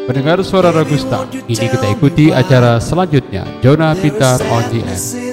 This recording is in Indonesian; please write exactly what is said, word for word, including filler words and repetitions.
Pendengar suara Ragusta, ini kita ikuti acara selanjutnya, Zona Pintar on the Air.